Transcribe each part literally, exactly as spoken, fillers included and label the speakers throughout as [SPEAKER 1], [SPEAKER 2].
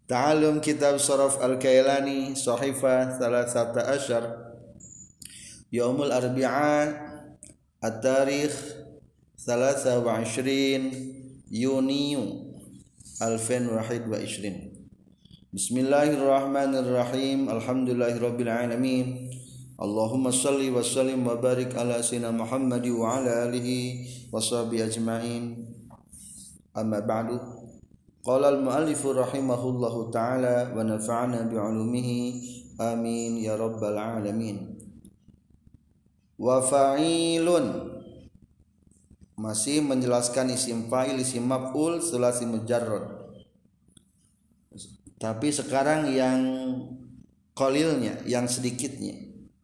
[SPEAKER 1] Ta'allum kitab Sharaf Al-Kailani Sahifah Thalathata Asyar Yaumul Arbi'a At-Tarikh Thalatha wa Ishrin Yuniyu Alfin Wahid wa Ishrin. Bismillahirrahmanirrahim. Alhamdulillahirabbil alamin. Allahumma salli wa sallim wa barik ala sayyidina Muhammad wa ala alihi wa sahbihi ajma'in. Amma ba'du. Qala al-mu'allif rahimahullahu ta'ala wa nafa'ana bi'ulumihi amin ya rabbal alamin. Wa fa'ilun masih menjelaskan isim fa'il, isim maf'ul, sulasi mujarrad. Tapi sekarang yang qalilnya, yang sedikitnya.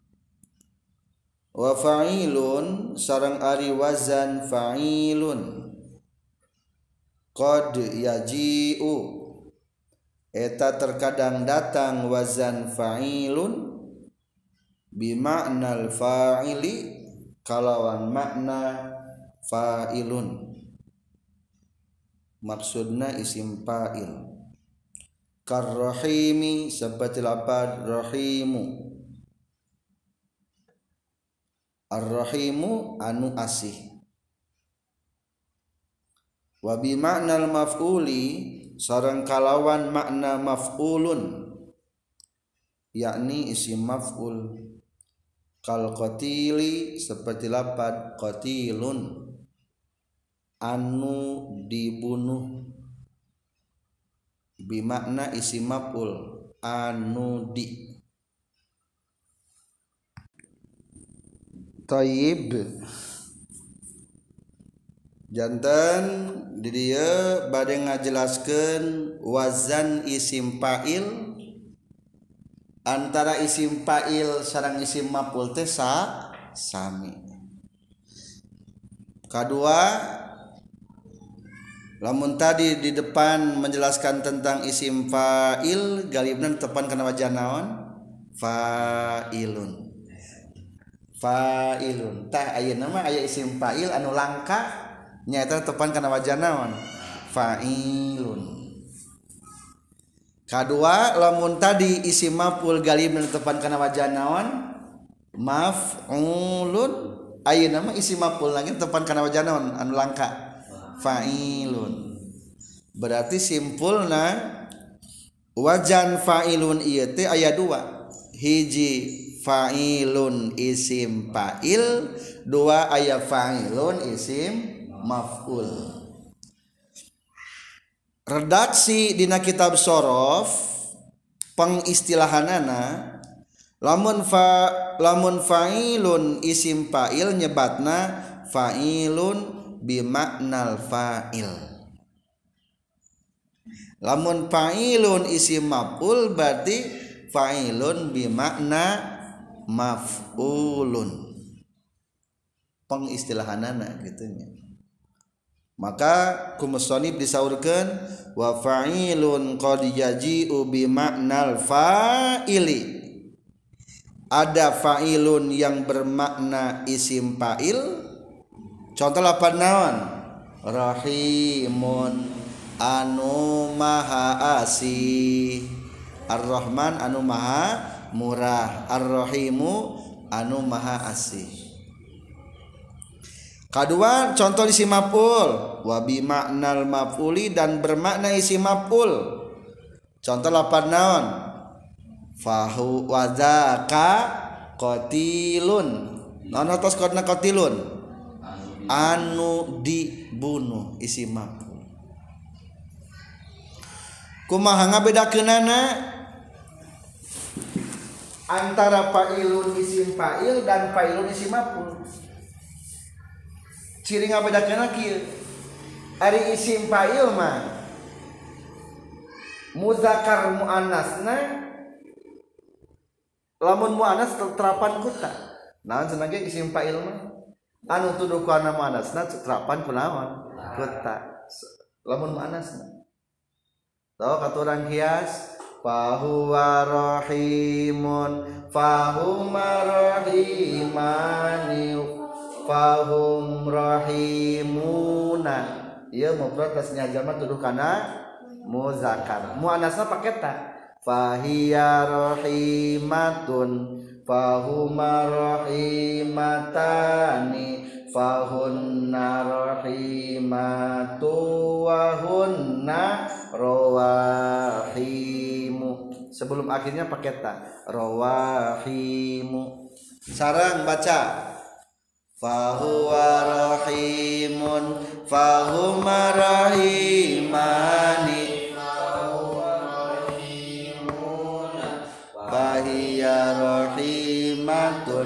[SPEAKER 1] Wa fa'ilun sareng ari wazan fa'ilun qad yaji'u eta terkadang datang wazan fa'ilun bima'nal fa'ili kalawan makna fa'ilun, maksudna isim fa'il. Karrahimi seperti lapad rahimu, ar-rahimu anu asih. Wa bi ma'nal maf'uli sareng kalawan makna maf'ulun yakni isim maf'ul. Kal qatili seperti lapad qatilun anu dibunuh, bi makna isim maf'ul anu di. Tayyib jantan di dia bade ngajelaskeun wazan isim fa'il antara isim fa'il sareng isim maf'ul teh sa sami. Kedua, lamun tadi di depan menjelaskan tentang isim fa'il galibna tepan kana wajah naon? Fa'ilun. Fa'ilun. Tah ayeuna mah aya isim fa'il anu langka nyata tepan kana wajah naon? Fa'ilun. Kadua, lamun tadi isim maf'ul galib tepan kana wajah naon? Maf'ulun. Ayeuna mah isim maf'ul lagi tepan kana wajah naon? Anu langka. Fa'ilun. Berarti simpulna wajan fa'ilun ieu teh aya dua. Hiji fa'ilun isim fa'il, dua aya fa'ilun isim maf'ul. Redaksi dina kitab sorof pengistilahanana lamun fa lamun fa'ilun isim fa'il nyebatna fa'ilun bimaknal fa'il. Lamun fa'ilun isim maf'ul berarti fa'ilun bimakna maf'ulun. Pengistilahanana gitunya. Maka kumusonib disaurkeun wa fa'ilun qad yaji'u bi ma'nal fa'ili. Ada fa'ilun yang bermakna isim fa'il. Contoh lapan naon? Rahimun anu maha asih, Ar-Rahman anu maha murah, Ar-Rahimu anu maha asih. Kedua, contoh isim maf'ul wa bi ma'nal maf'uli dan bermakna isim maf'ul. Contoh lapan naon? Fahu wa dzaka qatilun. Naon atos kodna qatilun? Anu dibunuh isim maf'ul. Kumaha ngabedakeunana antara fa'ilun isim fa'il dan fa'ilun isim maf'ul? Ciri ngabedakeunna kieu. Ari isim fa'il mah muzakkar muannasna lamun muannas terapan kuta. Naon cenah ge isim fa'il mah? Anu tuduh ku ana muannasna terapan ku naon? Kuta. Lamun muannasna. Tau katurang kias fahuwa rahimun fahuma rahimani fahum rahimuna. Ieu mufrad tasnya jalma tuduh kana muzakkar. Muannasna pakai ta. Fahiya rahimatun fahuma rahimatani fahunna rahimatu wa hunna rawahimu. Sebelum akhirnya pakai ta. Rawahimu. Sarang baca. Fahuwa rahimun fahuma rahimani fahiya rahimatun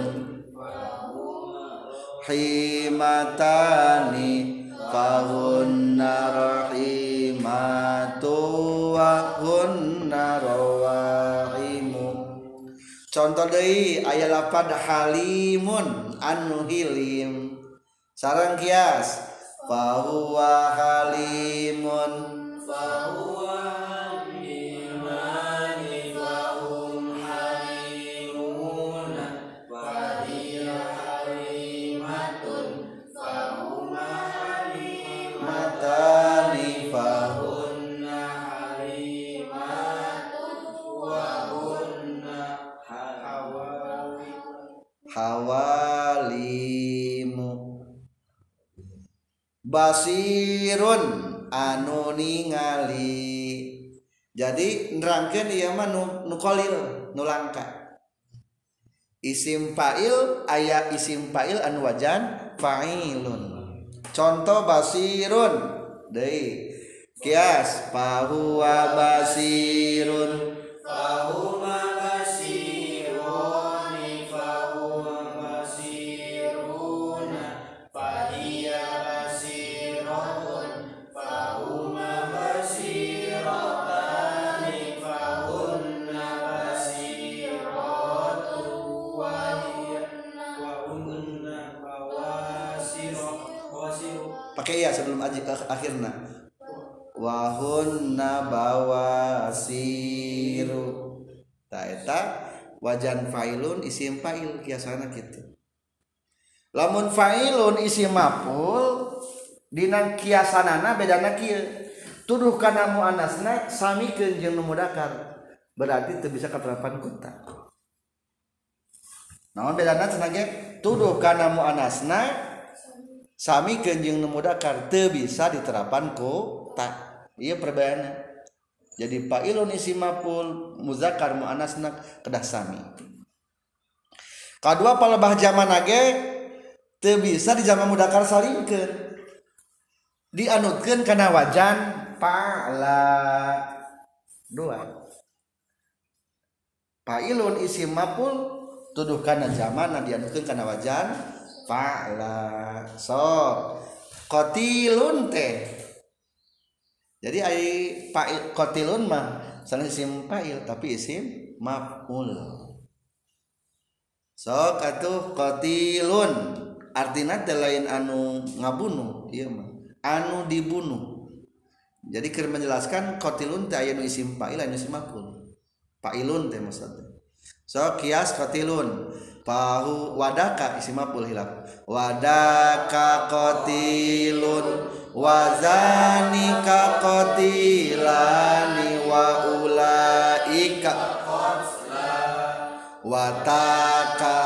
[SPEAKER 1] himatani fahunna rahimatu wa hunna rawahimu. Contoh deui aya lapad halimun anu hilim. Sareng kias fahuwa halimun fahuwa halimani fahum halimun fahiya halimatun fahuma halimatani fahunna halimatun wa hunna hawalimu. Basirun anu ningali. Jadi nerangkeun ieu mah nu, nu qalil nu langka. Isim fa'il aya isim fa'il anu wajan fa'ilun. Contoh basirun deui kias fahuwa basirun fahuma basirun fahuwa basirun fahiya basiratun fahuma basiratani fahunna basiratun wa hiya wa hunna bawasirun pakai ya sebelum akhirna wahunna bawasiru. Ta eta wajan fa'ilun isim fa'il kiasana kitu. Lamun fa'ilun isim maf'ul dina kiasanana bedana kieu. Tuduh kana muannasna samikeun jeung nu mudzakkar. Berarti teu bisa katerapan kunta. Naon bedana cenah ge? Tuduh kana muannasna samikeun jeung nu mudzakkar teu bisa diterapan ku ta. Ieu perbedaanna. Jadi fa'ilun isim maf'ul muzakkar muannasna kedah sami. Kadua palebah jamanna ge teu bisa di jama mudzakkar salimkeun. Dianutkeun kana wajan fa'ala. Dua. Fa'ilun isim maf'ul tuduh kana jamanna dianutkeun kana wajan fa'ala. So, qatilun teh jadi ai fa'il qatilun mah salah isim fa'il tapi isim maf'ul. Sok atuh qatilun artina teh lain anu ngabunuh ieu mah anu dibunuh. Jadi keur menjelaskan qatilun teh aya nu isim fa'il anu isim maf'ul. Fa'ilun teh maksudna. Sok kias qatilun fahu wadaka isim maf'ul hilaf. Wadaka qatilun wazanika qatilani wa ulaika wataka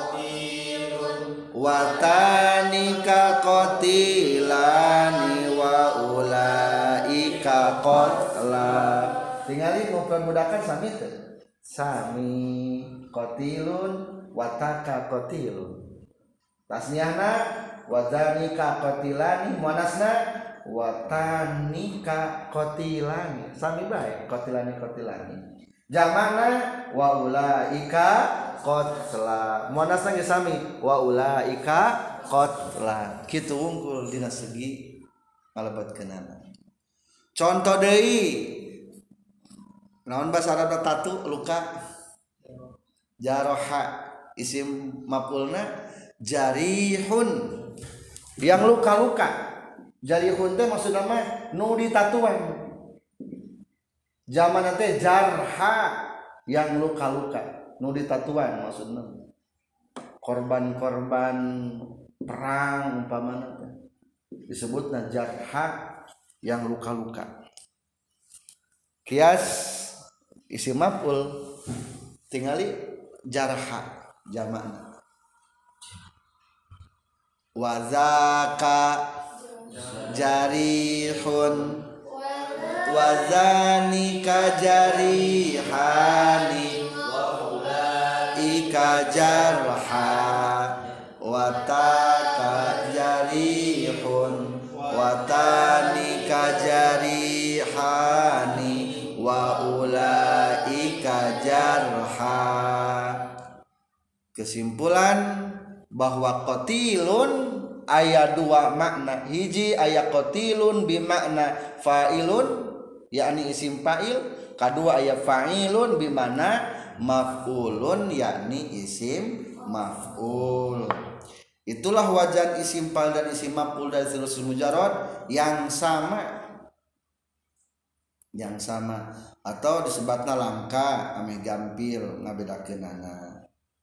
[SPEAKER 1] watanika qatilani wa ulaika qatla. Tingali mufrad mudzakkar sami teu? Sami. Qatilun wataka qatilun. Tasniahna wazanika qatilani muannasna watanika qatilani sami bae qatilani qatilani jamakna wa ulaika qatla muannasna ge sami wa ulaika qatla kitu wungkul dina segi ngalebatkeunana. Contoh deui naon basa Arab tatu luka jaroha isim maf'ulna jarihun yang luka-luka. Jarihun teh maksudna mah nu ditatuan. Zaman teh jarha yang luka-luka, nu ditatuan maksudna. Korban-korban perang umpamana teh disebutna jarha yang luka-luka. Kias isim maf'ul tingali jarha jamakna. Wazaka jarihun wazanika jarihani ika jarha wataka jarihun watanika jarihani wa ulaika jarha. Kesimpulan bahwa qatilun aya dua makna. Hiji aya qatilun bimakna fa'ilun yakni isim fa'il, kedua aya fa'ilun bimakna maf'ulun yakni isim maf'ul. Itulah wajan isim fa'il dan isim maf'ul dari sulsul mujarrad yang sama. Yang sama atau disebutna langka ame gampil ngabedakeunana.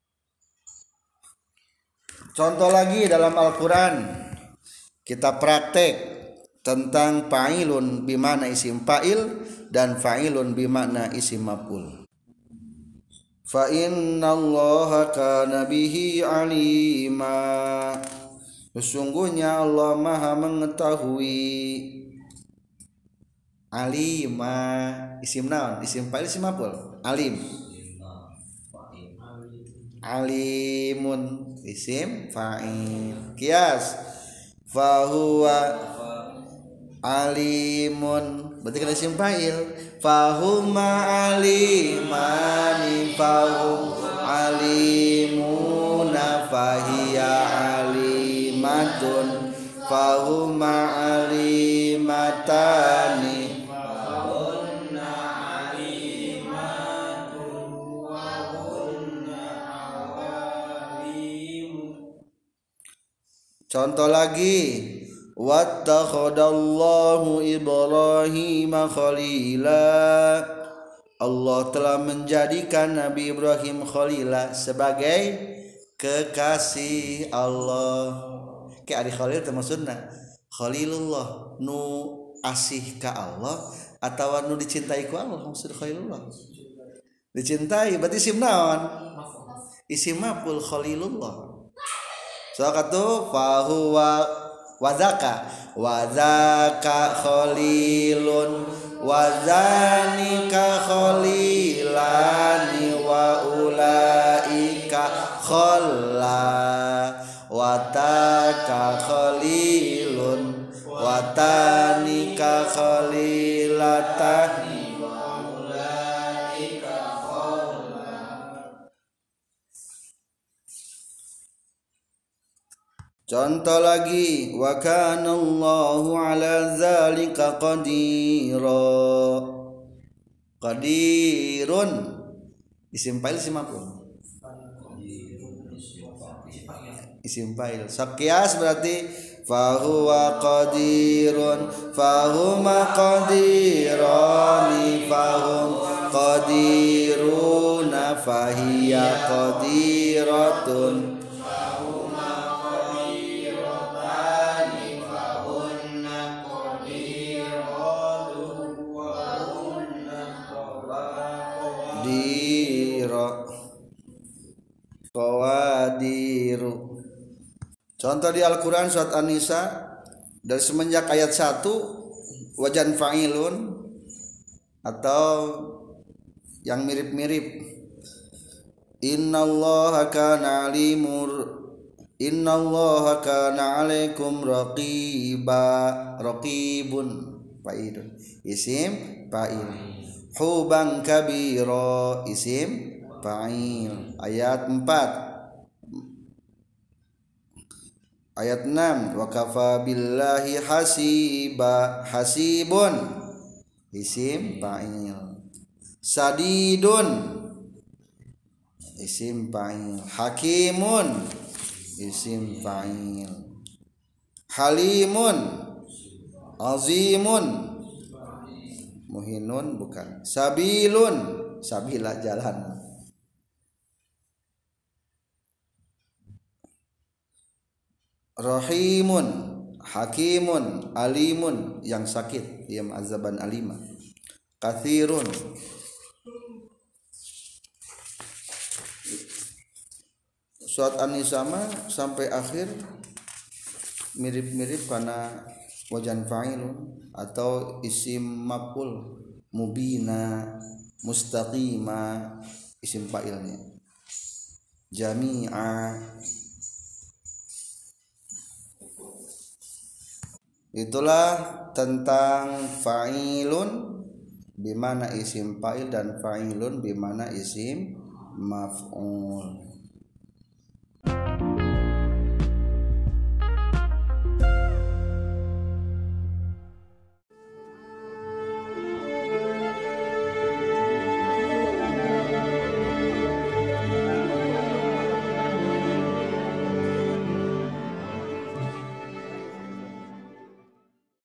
[SPEAKER 1] Contoh lagi dalam Al-Quran kita praktek tentang fa'ilun bimana isim fa'il dan fa'ilun bimana isim maf'ul. Fa innallaha kana bihi alima. Sesungguhnya Allah Maha mengetahui. Alima isim naon? Isim fa'il isim maf'ul? Alim. Alimun isim fa'il. Kias fahuwa alimun berarti kan isim fa'il. Fahuma alimani fahum alimuna fahiya alimatun fahuma alimatani. Contoh lagi, wattakhadallahu Ibrahim khalila. Allah telah menjadikan Nabi Ibrahim khalila sebagai kekasih Allah. Kayak ari khalil teh maksudna khalilullah nu asih ka Allah atawa nu dicintai ku Allah maksud khalilullah. Dicintai berarti isim naon? Isim maf'ul khalilullah. Soalnya fahuwa wazaka wazaka khalilun wazanika khalilani wa ulaika khalla wataka khalilun watanika khalilatani. Contoh lagi, wa kana Allahu ala zalika qadira. Qadirun isim fa'il isim maf'ul. Isim fa'il. Sakias berarti fahuwa qadirun fahuma qadirani fahum qadiruna fahiya qadiratun. Qawadiru. Contoh di Al-Quran surat An-Nisa dari semenjak ayat satu wajan fa'ilun atau yang mirip-mirip. Innallaha kana alimur Innallaha kana alaikum raqiba. Raqibun fa'ilun isim fa'il. Huban kabira isim fa'il. Ayat empat. Ayat enam wa kafa billahi hasiba. Hasibun isim fa'il. Sadidun isim fa'il. Hakimun isim fa'il. Halimun azimun muhinun bukan. Sabilun sabila jalan. Rahimun hakimun alimun yang sakit yang azaban alima. kathirun. Surat An-Nisa sampai akhir mirip-mirip karena wajan fa'ilun atau isim maf'ul, mubina, mustaqima isim fa'ilnya, jami'a. Itulah tentang fa'ilun bimana isim fa'il dan fa'ilun bimana isim maf'ul.